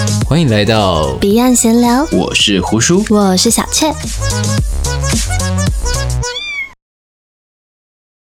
歡迎來到彼岸閒聊， 我是胡叔， 我是小雀。